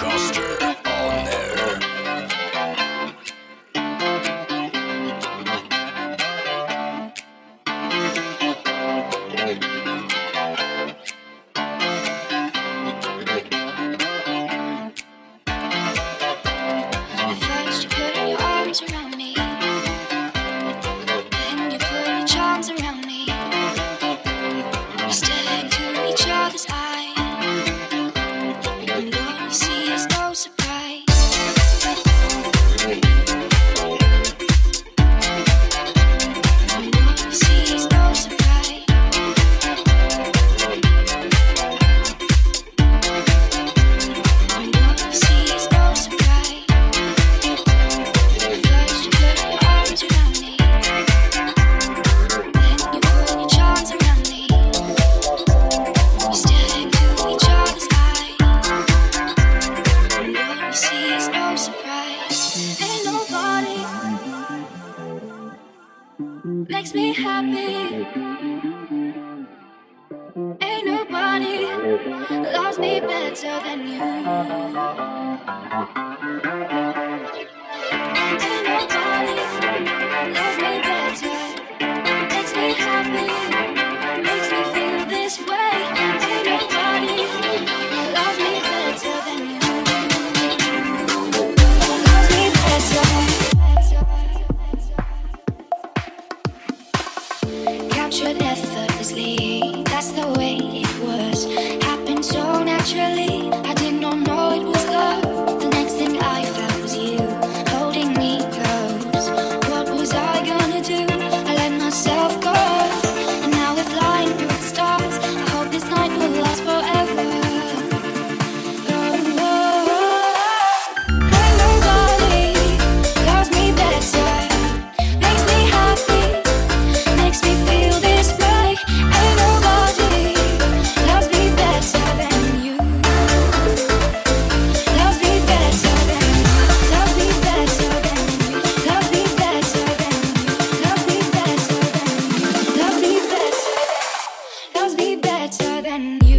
Coster on air. Makes me happy. Ain't nobody loves me better than you. Ain't nobody loves me better. Makes me happy. Makes me feel this way. Ain't nobody loves me better than you. Loves me better. Captured effortlessly, that's the way it was. Happened so naturally, I did not know it was love. The next thing I felt was you, holding me close. What was I gonna do? I let myself go. And now we're flying through the stars. I hope this night will last forever. Oh, oh, oh. Ain't nobody loves me better. Makes me happy. Makes me feel this way. Ain't nobody loves me better than you. Loves me better than you. Loves me better than you. Loves me better than you. Loves me better than you. Loves me better. Loves me better than you.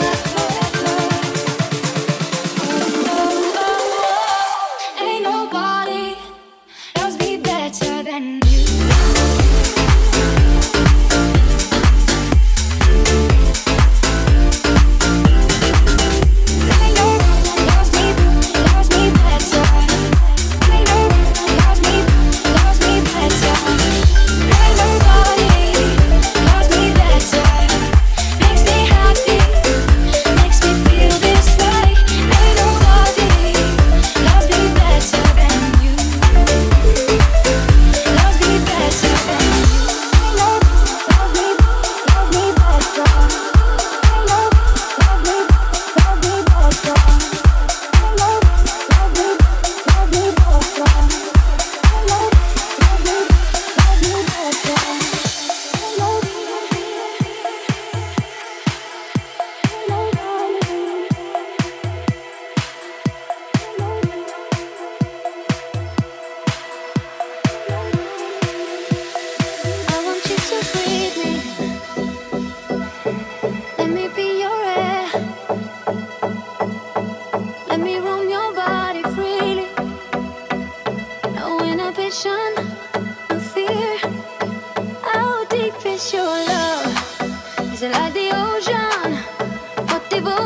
Ain't nobody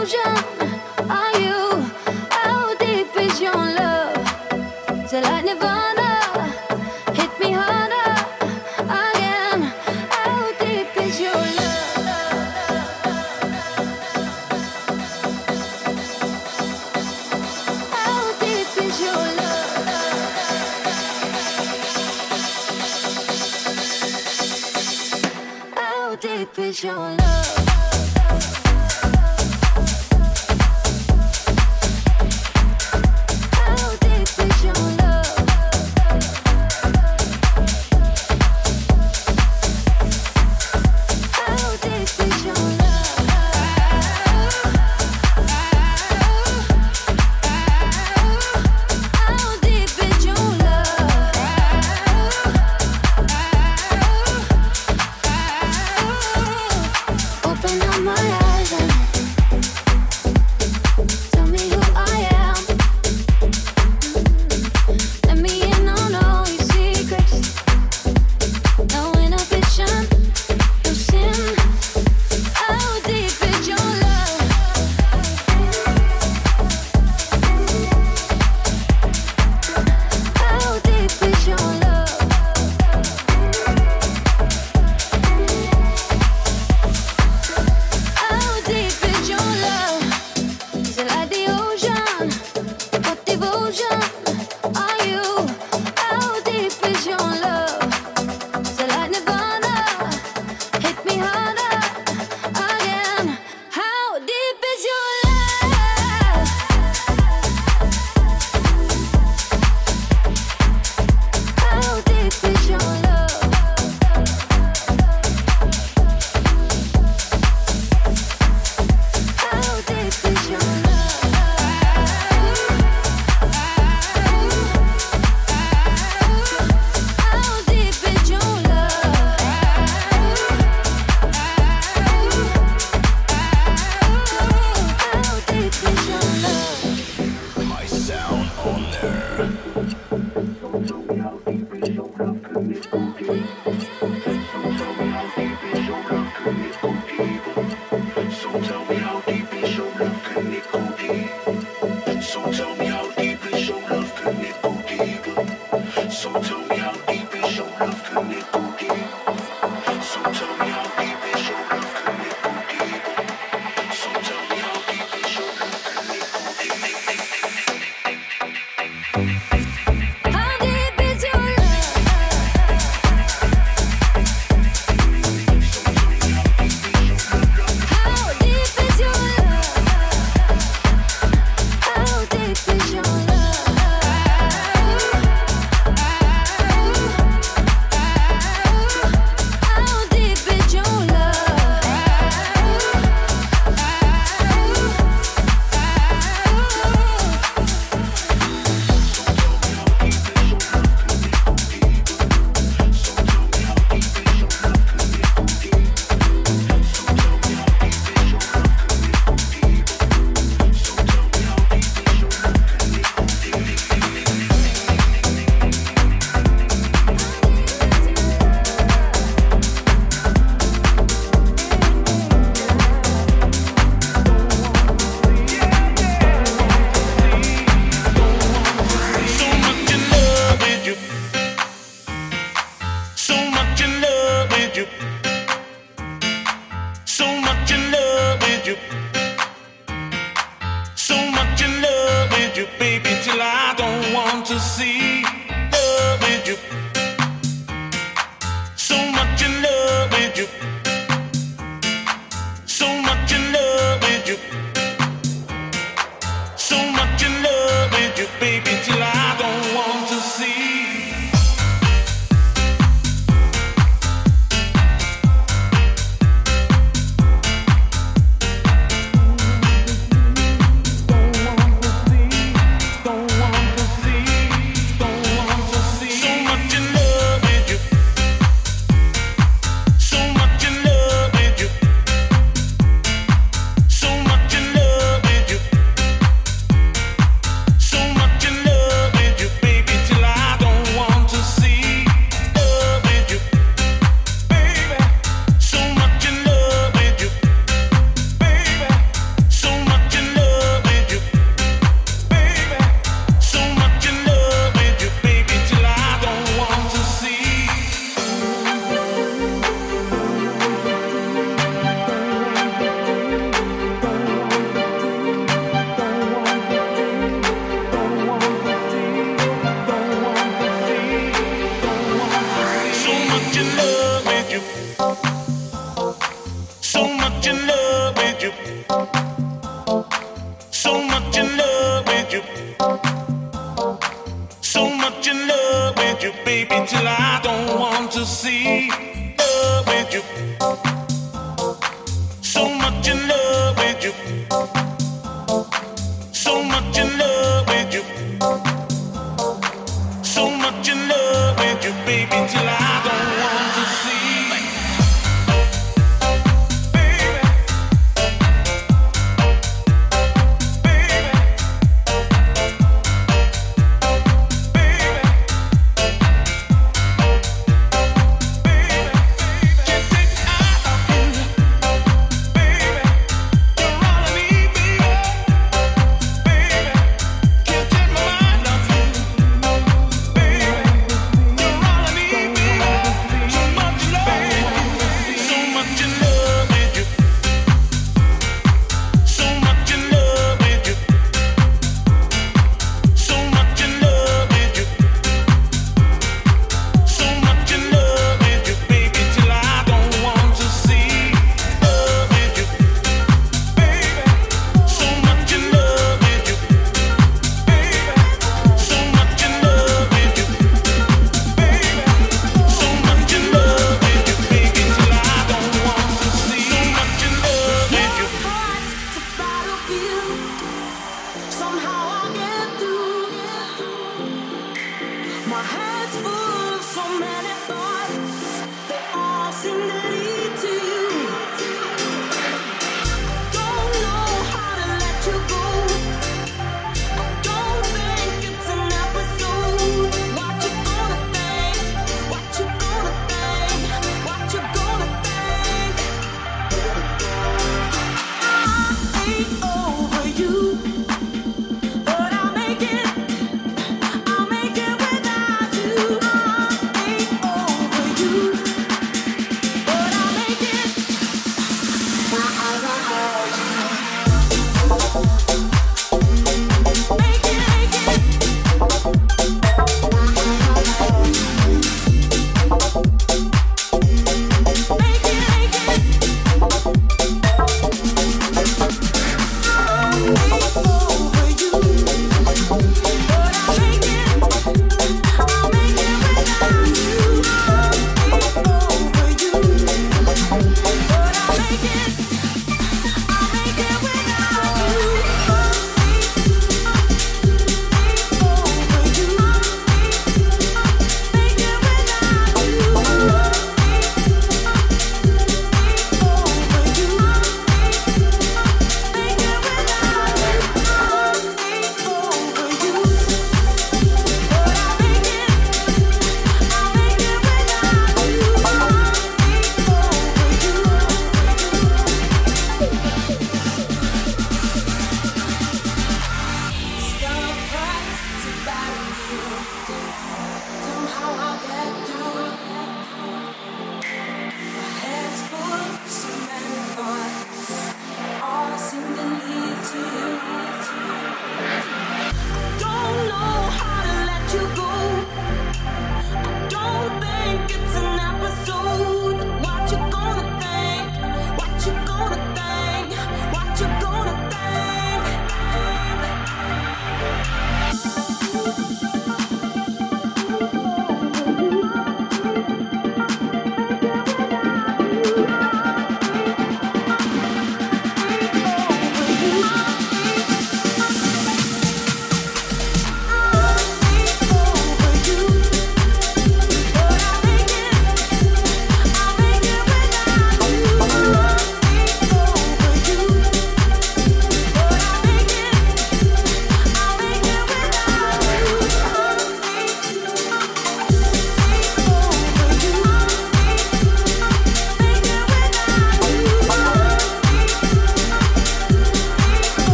ocean are you? How deep is your love? Till like Nirvana, hit me harder again. How deep is your love? How deep is your love? How deep is your love? much in love with you. So much in love with you, baby, till I don't want to see. Love with you. So much in love with you. So much in love with you. So much in love with you, baby, till I don't want to see.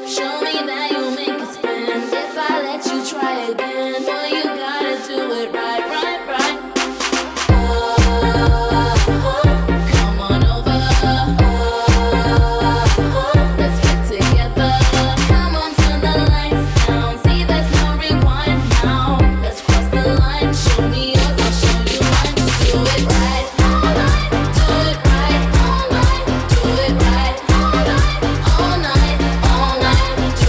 Do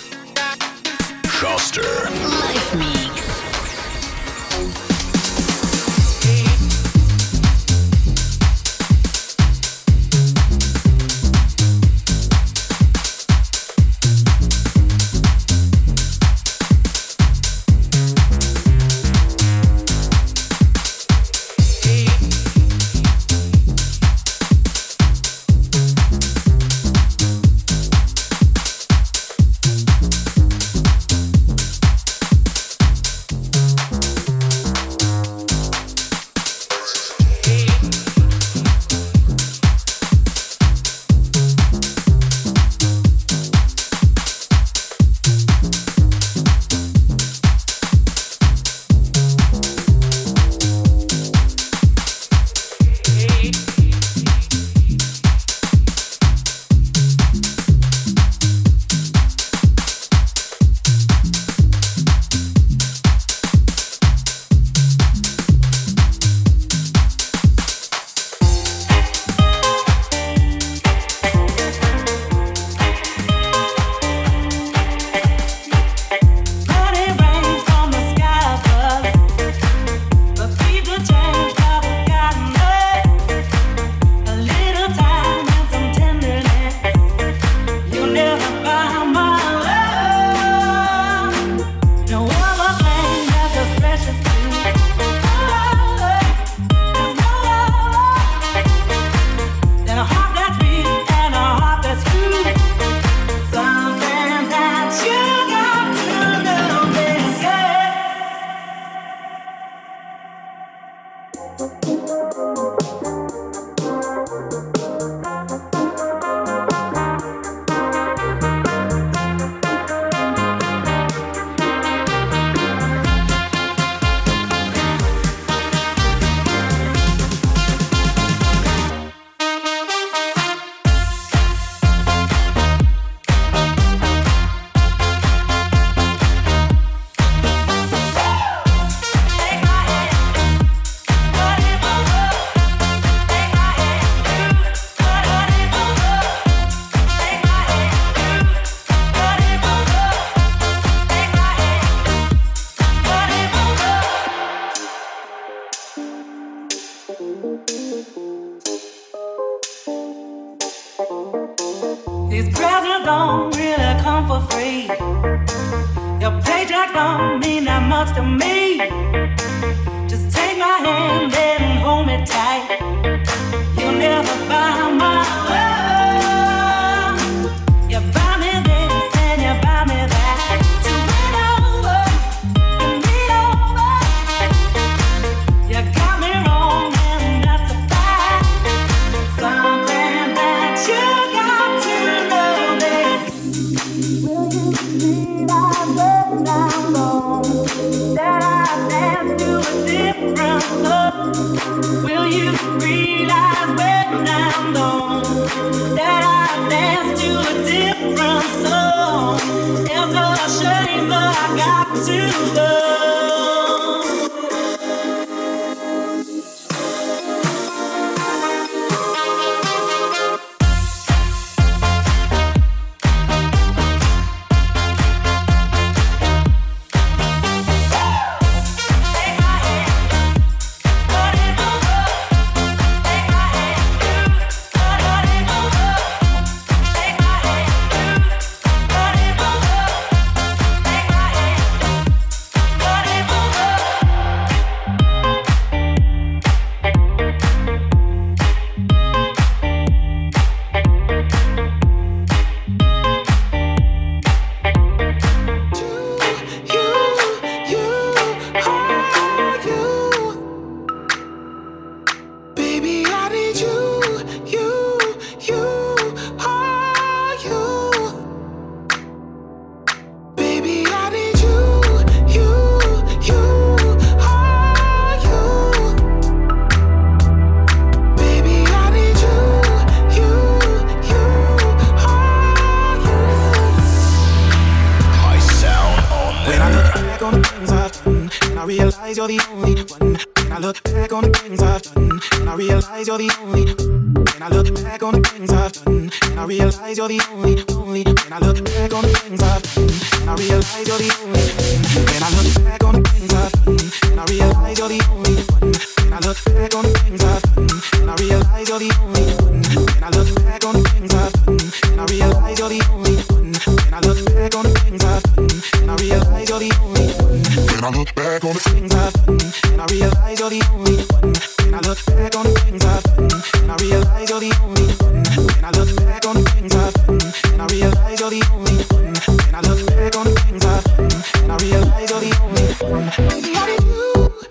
Schuster. Live Mix. These presents don't really come for free. Your paycheck don't mean that much to me. Just take my hand and hold me tight. You'll never buy my love. You buy me this and you buy me that. So lean over and lean over. You got me wrong and that's a fact. Something that you got to know this. Will you see that way down low? That I dance to a different love. Will you realize when I'm gone that I dance to a different song? It's a shame, but I got to go. You're the only one. When I look back on the things I've done, and I realize you're the only one. When I look back on the things I've done, and I realize you're the only. When I look back on the things I've done, and I realize you're the only. When I look back on the things I've done, and I realize you're the only one. When I look back on the things I've done, and I realize you're the only one. When I look back on the things I've done, and I realize you're the only one. When I look back on the things I've done, and I realize you're the only one. When I look back on the things I've done, and I realize you're the only one. When I look back on the things I've done, and I realize you're the only one. When I look back on the things I've done, and I realize you're the only one. When I look back on the things I've done, and I realize you're the only one. Baby, how did you.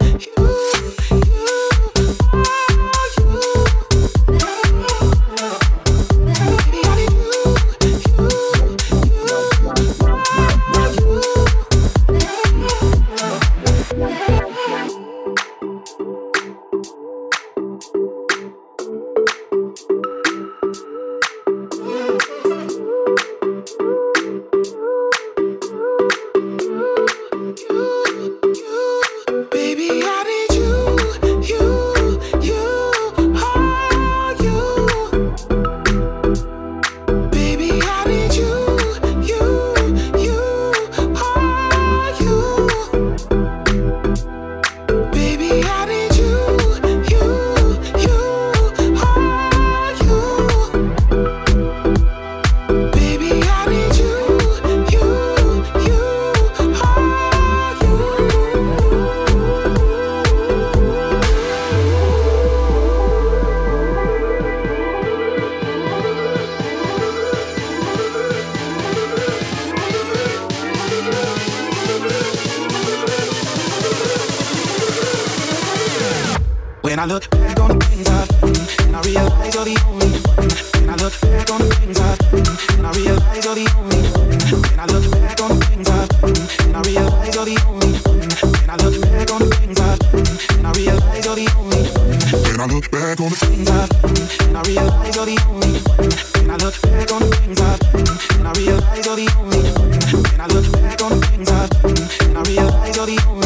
When I look back on the things I've done, and I realize you're the only one. When I look back on the things I've done, and I realize you're the only one. When I look back on the things I've done, and I realize you're the only one. When I look back on the things I've done, and I realize you're the only one. When I look back on the things I've done, and I realize you're the only one. When I look back on the things I've done, and I realize you're the only one. When I look back on the things I've done, and I realize you're the only one.